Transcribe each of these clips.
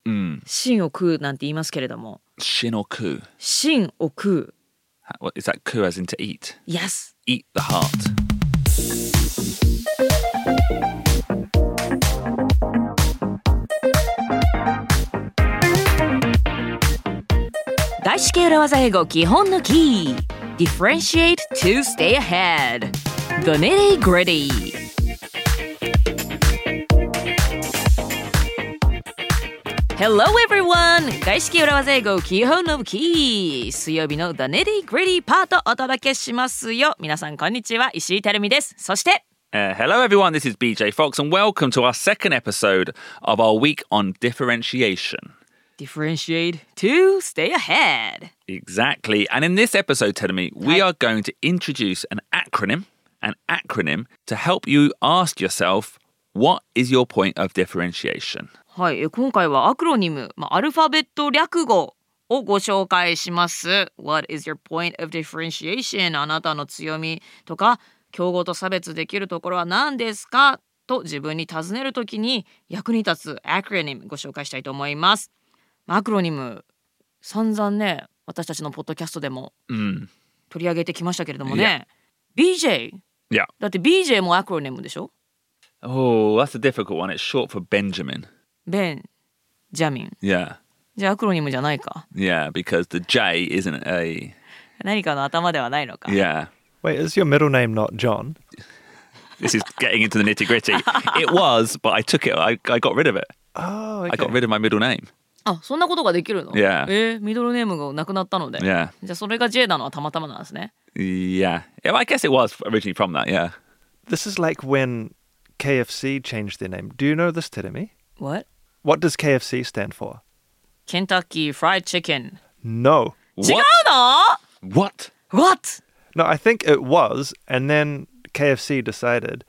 芯を食うなんて言いますけれども。 Shin or ku? 芯を食う。 What, is that ku as in to eat? Yes. Eat the heart. 外資系裏技英語基本のキー Differentiate to stay ahead The nitty gritty Hello everyone 外資系裏技英語基本のキー水曜日の The nitty gritty パートお届けしますよ皆さんこんにちは石井てるみですそして Hello everyone, this is BJ Fox and welcome to our second episode of our week on differentiation.Differentiate to stay ahead. Exactly. And in this episode, Terumi, we are going to introduce an acronym to help you ask yourself, what is your point of differentiation? はい、今回はアクロニム、アルファベット略語をご紹介します。What is your point of differentiation? あなたの強みとか、競合と差別できるところは何ですかと自分に尋ねるときに役に立つアクロニムご紹介したいと思います。アクロニム散々ね私たちのポッドキャストでも取り上げてきましたけれどもね、BJ、だって BJ もアクロニムでしょ Oh, that's a difficult one. It's short for Benjamin. ベンジャミン Yeah. じゃあアクロニムじゃないか Yeah, because the J isn't a... 何かの頭ではないのか Yeah. Wait, is your middle name not John? This is getting into the nitty-gritty. It was, but I took it. I got rid of it. Oh, okay. I got rid of my middle name. あ、そんなことができるの Yeah. ミドルネームがなくなったので Yeah. じゃあそれが J なのはたまたまなんですね Yeah. I guess it was originally from that, yeah. This is like when KFC changed their name. Do you know this, Terumi? What? What does KFC stand for? Kentucky Fried Chicken No. 違うの What? What? No, I think it was, and then KFC decided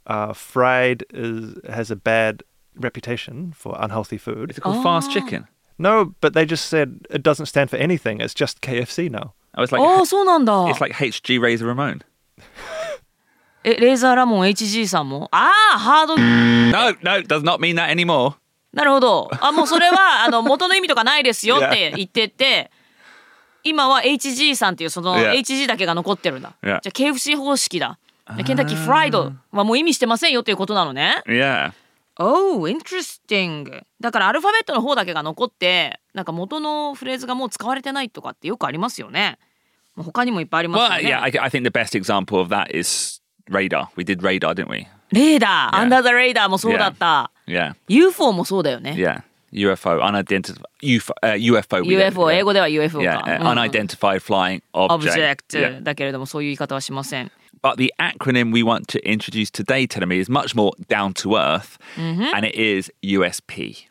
fried has a bad reputation for unhealthy food. Is it called fast chicken? No, but they just said it doesn't stand for anything. It's just KFC now. I was like, そうなんだ it's like HG Razor Ramon. レーザーラモン HG さんもハード No, does not mean that anymore. なるほどもうそれは元の意味とかないですよって言ってて今は HG さんっていうその HG だけが残ってるんだ、じゃあ KFC 方式だケンタッキーフライドはもう意味してませんよっていうことなのね Yeah. Oh, interesting だからアルファベットの方だけが残ってなんか元のフレーズがもう使われてないとかってよくありますよね他にもいっぱいありますよ Well, ね yeah, I think the best example of that is radar. We did radar, didn't we? レーダー、Under the Radar もそうだった、 Yeah. UFO もそうだよね Yeah. UFO, unidentified UFO. UFO、英語では UFO か、 Yeah, unidentified flying object. Object だけれどもそういう言い方はしません But the acronym we want to introduce today, Terumi, is much more down to earth, and it is USP.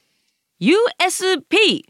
USP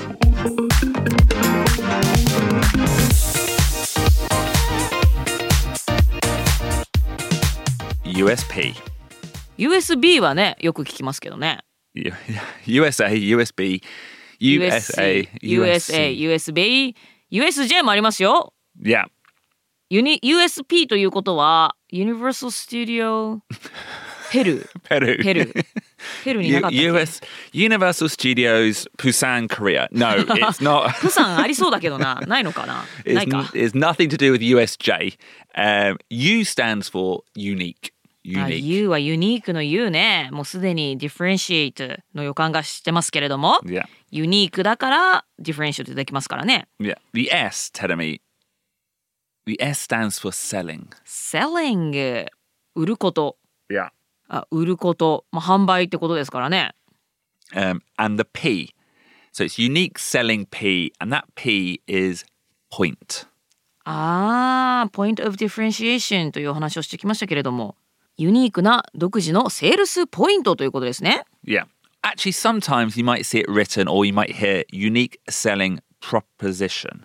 USP. USB はねよく聞きますけどね USA, USB, USA, USB USJ もありますよ Yeah. USP ということは Universal Studio ペルになかったっけ Universal Studios Busan, Korea. No, it's not. プサンありそうだけどなないのかなないか It's nothing to do with USJ. U stands for unique. U はユニークの U ねもうすでに Differentiate の予感がしてますけれども、 Yeah. ユニークだから Differentiate できますからね Yeah. The S, Terumi. The S stands for selling. Selling 売ること Yeah. 売ること、販売ってことですからね And the P. So it's unique selling P, and that P is point. Point of differentiation というお話をしてきましたけれどもユニークな独自のセールスポイントということですね Yeah. Actually, sometimes you might see it written or you might hear unique selling proposition.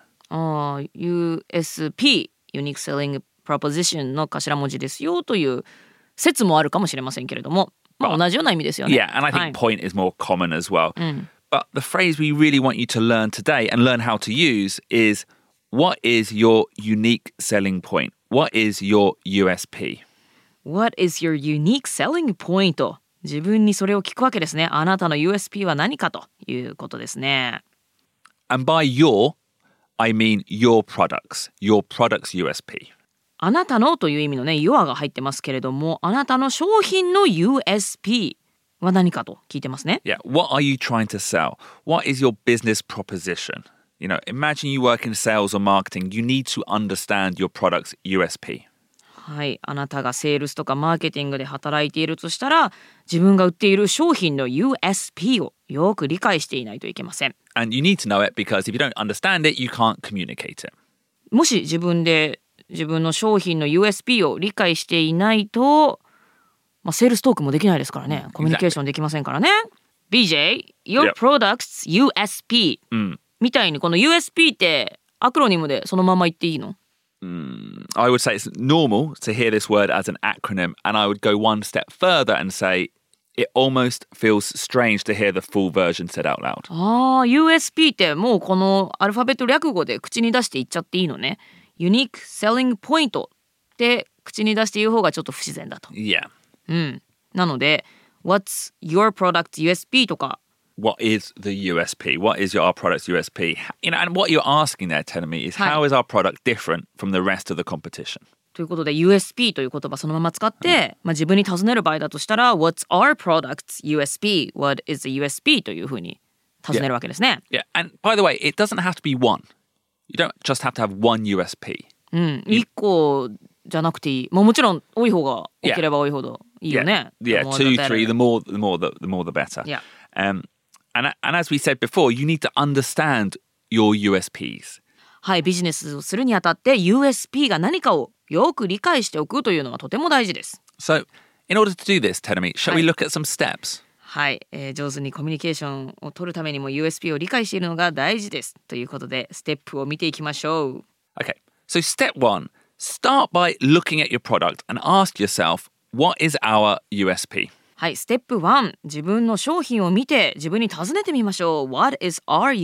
USP Unique Selling Proposition の頭文字ですよという説もあるかもしれませんけれども、同じような意味ですよね Yeah, and I think point is more common as well. But the phrase we really want you to learn today and learn how to use is what is your unique selling point? What is your USP? What is your unique selling point? 自分にそれを聞くわけですね。あなたの USP は何かということですね。 And by your, I mean your products USP. あなたのという意味のね、your が入ってますけれども、あなたの商品の USP は何かと聞いてますね。 Yeah, what are you trying to sell? What is your business proposition? You know, imagine you work in sales or marketing. You need to understand your product's USP. はい、あなたがセールスとかマーケティングで働いているとしたら、自分が売っている商品の USP をよく理解していないといけません。 And you need to know it because if you don't understand it, you can't communicate it. もし自分で自分の商品の USP を理解していないと、セールストークもできないですからね。コミュニケーションできませんからね。BJ, your product's USP、みたいにこの USP ってアクロニムでそのまま言っていいの I would say it's normal to hear this word as an acronym, and I would go one step further and say it almost feels strange to hear the full version said out loud. USP ってもうこのアルファベット略語で口に出して言っちゃっていいのね。Unique Selling Point って口に出して言う方がちょっと不自然だと。 Yeah. なので What's your product's USP とか What is the USP? What is our product's USP? You know, and what you're asking there, telling me, is how is our product different from the rest of the competition? ということで USP という言葉そのまま使って、自分に尋ねる場合だとしたら What's our product's USP? What is the USP? というふうに尋ねるわけですね。 Yeah, and by the way, it doesn't have to be one. You don't just have to have one USP. 1個じゃなくていい。もちろん多い方が多ければ多いほどいいよね。 Yeah, 2, 3, the more the better. Yeah. And as we said before, you need to understand your USPs. はい、ビジネスをするにあたって USP が何かをよく理解しておくというのはとても大事です。 So, in order to do this, Terumi, shall we look at some steps? はい、上手にコミュニケーションを取るためにも USP を理解しているのが大事です。ということで、ステップを見ていきましょう。 Okay, so step 1, start by looking at your product and ask yourself, what is our USP? はい、ステップ1、自分の商品を見て自分に尋ねてみましょう。What is our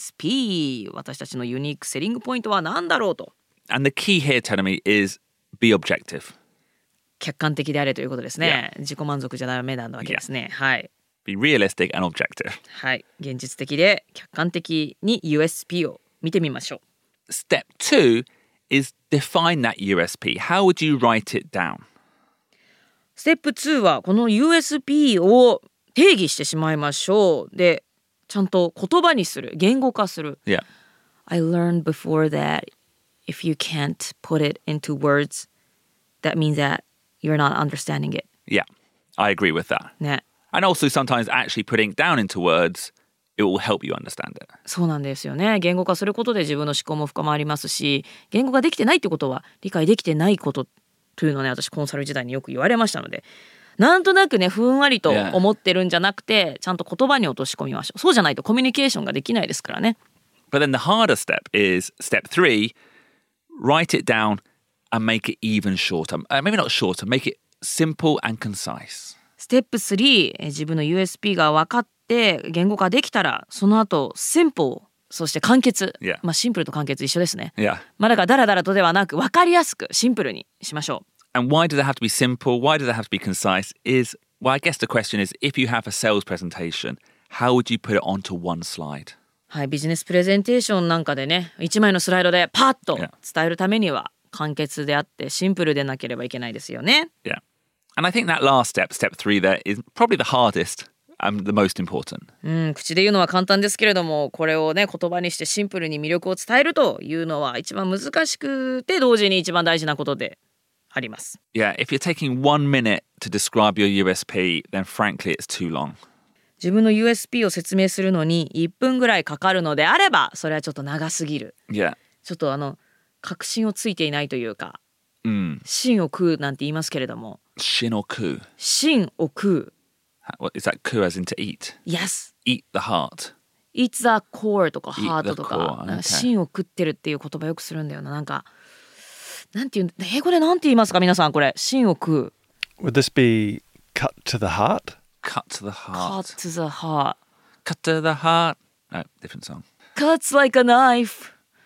USP? 私たちのユニークセリングポイントは何だろうと。 And the key here, Terumi, is be objective. 客観的であれということですね。自己満足じゃダメなわけですね。はい。 Be realistic and objective. はい、現実的で客観的に USP を見てみましょう。 Step 2 is define that USP. How would you write it down? ステップ2はこの USP を定義してしまいましょう。で、ちゃんと言葉にする、言語化する。 Yeah. I learned before that if you can't put it into words, that means that you're not understanding it. Yeah, I agree with that. ね。 And also sometimes actually putting it down into words, it will help you understand it. そうなんですよね。言語化することで自分の思考も深まりますし、言語ができてないってことは理解できてないことというのをね、私コンサル時代によく言われましたので、なんとなくね、ふんわりと思ってるんじゃなくて、ちゃんと言葉に落とし込みましょう。そうじゃないとコミュニケーションができないですからね。 But then the harder step is step 3, write it down and make it even shorter. Maybe not shorter, make it simple and concise. ステップ3、自分の USP が分かって言語化できたら、その後simple、そして簡潔、シンプルと簡潔一緒ですね。 Yeah. だからダラダラとではなく分かりやすくシンプルにしましょう。 And why does it have to be simple? Why does it have to be concise? Well, I guess the question is, if you have a sales presentation, how would you put it onto one slide? はい、ビジネスプレゼンテーションなんかでね、1枚のスライドでパッと伝えるためには簡潔であってシンプルでなければいけないですよね。 Yeah. And I think that last step, step 3 there, is probably the hardest and the most important. 口で言うのは簡単ですけれども、これをね、言葉にしてシンプルに魅力を伝えるというのは一番難しくて同時に一番大事なことであります。 Yeah, if you're taking 1 minute to describe your USP, then frankly it's too long. 自分の USP を説明するのに1分ぐらいかかるのであれば、それはちょっと長すぎる。 Yeah. ちょっと確信をついていないというか、芯を食うなんて言いますけれども。 Shin or ku? 芯を食う。 What, is that ku as in to eat? Yes. Eat the heart. Eat the core とか heart とか、 okay. 芯を食ってるっていう言葉よくするんだよな。なんていう英語でなんて言いますか皆さんこれ。芯を食う。 Would this be cut to the heart? Cut to the heart. Cut to the heart. Cut to the heart. No, different song. Cuts like a knife.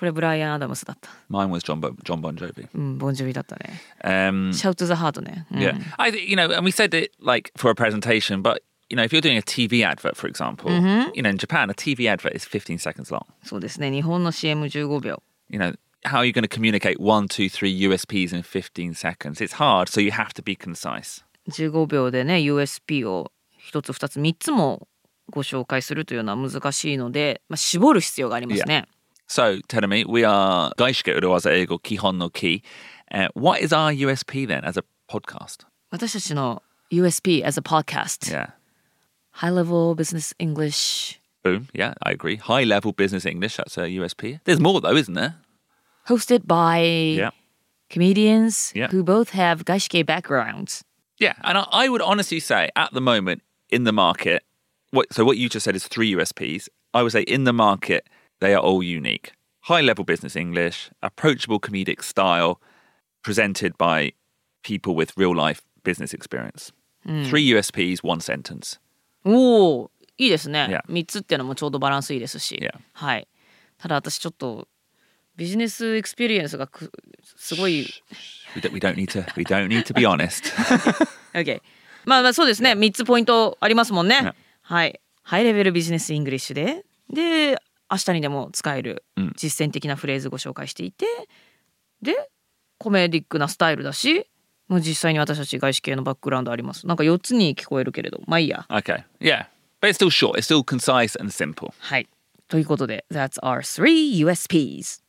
これブライアン・アダムスだった。 Mine was John Bon Jovi. ボンジョビだったね。 Um, Shout to the Heart ね。 Yeah, I think and we said it like for a presentation, but if you're doing a TV advert, for example, in Japan, a TV advert is 15 seconds long. そうですね。日本の CM15 秒。 How are you going to communicate 1, 2, 3 USPs in 15 seconds? It's hard, so you have to be concise. 15秒でね USP を1つ2つ3つもご紹介するというのは難しいので、絞る必要がありますね。 So, Terumi, we are Gaishike Uruwaza Eigo Kihon no Ki. What is our USP then as a podcast? 私たちの USP as a podcast. Yeah. High level business English. Boom. Yeah, I agree. High level business English, that's a USP. There's more though, isn't there? Hosted by comedians who both have Gaishike backgrounds. Yeah, and I would honestly say at the moment in the market, what you just said is 3 USPs. I would say in the market, they are all unique. High-level business English, approachable comedic style, presented by people with real-life business experience. 3 USPs, 1 sentence. おー、いいですね。 Yeah. 3つっていうのもちょうどバランスいいですし。 Yeah. はい。ただ私ちょっとビジネスエクスペリエンスがすごい。 We don't need to be honest. Okay. まあそうですね。3つポイントありますもんね。Yeah. はい。ハイレベルビジネスイングリッシュで、明日にでも使える実践的なフレーズご紹介していて、でコメディックなスタイルだし、もう実際に私たち外資系のバックグラウンドあります。なんか4つに聞こえるけれど、まあいいや。 Okay, yeah, but it's still short. It's still concise and simple. はい。ということで、That's our 3 USPs.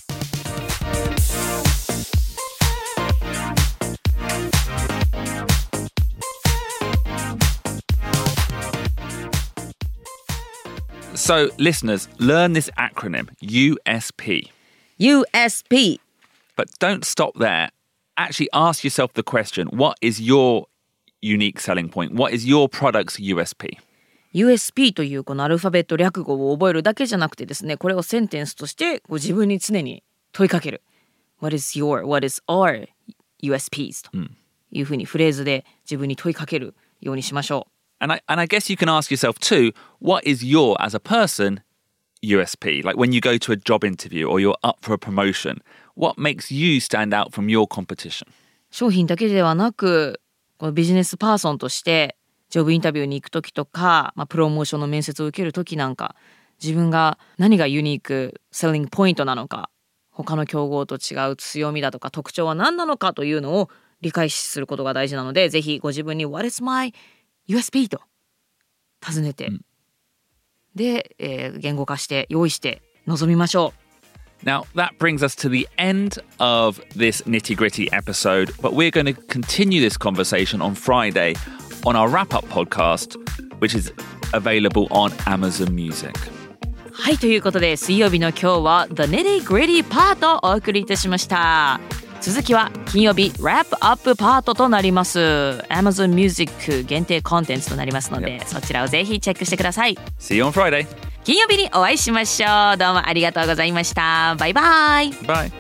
So, listeners, learn this acronym, USP. USP. But don't stop there. Actually ask yourself the question, what is your unique selling point? What is your product's USP? USP というこのアルファベット略語を覚えるだけじゃなくてですね、これをセンテンスとしてご自分に常に問いかける。What is our USPs? というふうにフレーズで自分に問いかけるようにしましょう。 And I guess you can ask yourself too, what is your, as a person, USP? Like when you go to a job interview or you're up for a promotion, what makes you stand out from your competition? 商品だけではなく、このビジネスパーソンとしてジョブインタビューに行くときとか、プロモーションの面接を受けるときなんか、自分が何がユニーク、セリングポイントなのか、他の競合と違う強みだとか特徴は何なのかというのを理解することが大事なので、ぜひご自分に What is my USP と尋ねて、で、言語化して用意して臨みましょう。 Now, that brings us to the end of this nitty-gritty episode, but we're going to continue this conversation on Friday on our wrap-up podcast, which is available on Amazon Music. はい、ということで水曜日の今日は The Nitty-Gritty パートをお送りいたしました。続きは金曜日 Wrap-Up パートとなります。 Amazon Music 限定コンテンツとなりますので、そちらをぜひチェックしてください。 See you on Friday. 金曜日にお会いしましょう。どうもありがとうございました。バイバイ。 Bye.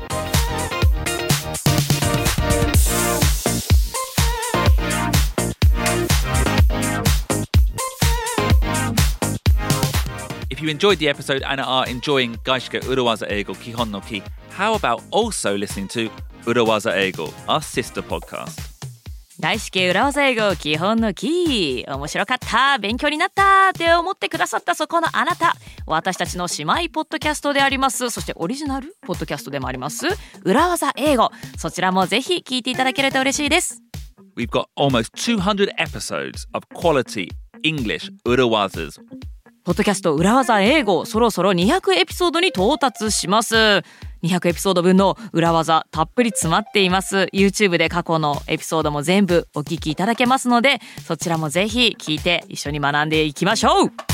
If you enjoyed the episode and are enjoying Gaishike Uruwaza Eigo Kihon no Ki, how about also listening to Uruwaza Eigo, our sister podcast? 外資系裏技英語基本のキー。面白かった、勉強になったって思ってくださったそこのあなた、私たちの姉妹ポッドキャストであります、そしてオリジナルポッドキャストでもあります裏技英語、そちらもぜひ聞いていただけると嬉しいです。 We've got almost 200 episodes of quality English Uruwazas. ポッドキャスト裏技英語、そろそろ200エピソードに到達します。200エピソード分の裏技たっぷり詰まっています。 YouTube で過去のエピソードも全部お聞きいただけますので、そちらもぜひ聞いて一緒に学んでいきましょう。